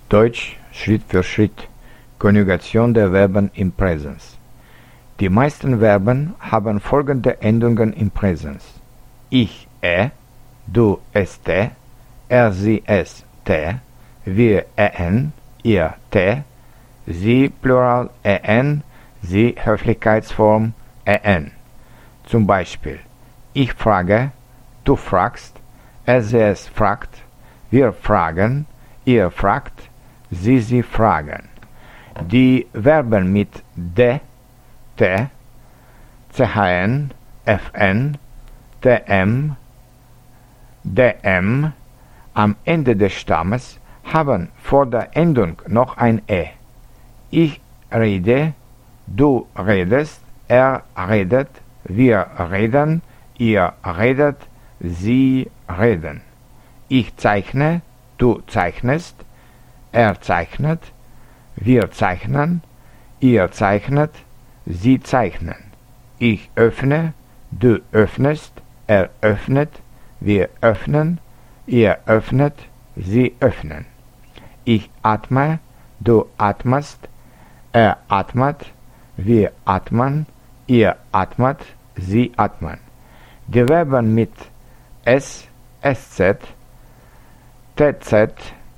Deutsch Schritt für Schritt. Konjugation der Verben im Präsens. Die meisten Verben haben folgende Endungen im Präsens. Ich, du, st, sie, es, t, wir, en, ihr, t, sie, Plural, en, sie, Höflichkeitsform, en. Zum Beispiel, ich frage, du fragst, es fragt, wir fragen, ihr fragt, sie fragen. Die Verben mit de, t, chn, fn, tm, dm am Ende des Stammes haben vor der Endung noch ein e. Ich rede, du redest, er redet, wir reden, ihr redet, sie reden. Ich zeichne, du zeichnest, er zeichnet, wir zeichnen, ihr zeichnet, sie zeichnen. Ich öffne, du öffnest, er öffnet, wir öffnen, ihr öffnet, sie öffnen. Ich atme, du atmest, er atmet, wir atmen, ihr atmet, sie atmen. Die Verben mit s, sz, tz,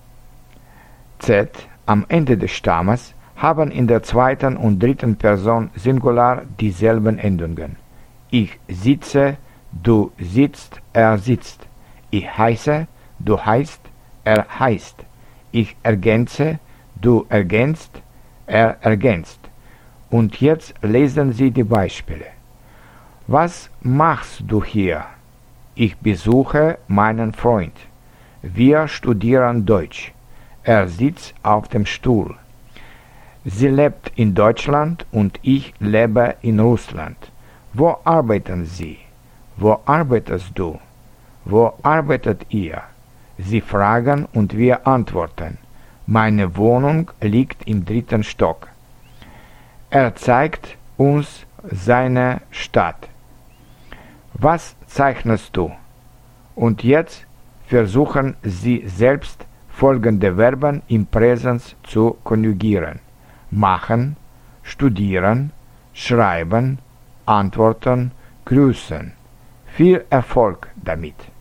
z am Ende des Stammes haben in der zweiten und dritten Person Singular dieselben Endungen. Ich sitze, du sitzt, er sitzt. Ich heiße, du heißt, er heißt. Ich ergänze, du ergänzt, er ergänzt. Und jetzt lesen Sie die Beispiele. Was machst du hier? Ich besuche meinen Freund. Wir studieren Deutsch. Er sitzt auf dem Stuhl. Sie lebt in Deutschland und ich lebe in Russland. Wo arbeiten Sie? Wo arbeitest du? Wo arbeitet ihr? Sie fragen und wir antworten. Meine Wohnung liegt im 3. Stock. Er zeigt uns seine Stadt. Was zeichnest du? Und jetzt versuchen Sie selbst folgende Verben im Präsens zu konjugieren. Machen, studieren, schreiben, antworten, grüßen. Viel Erfolg damit!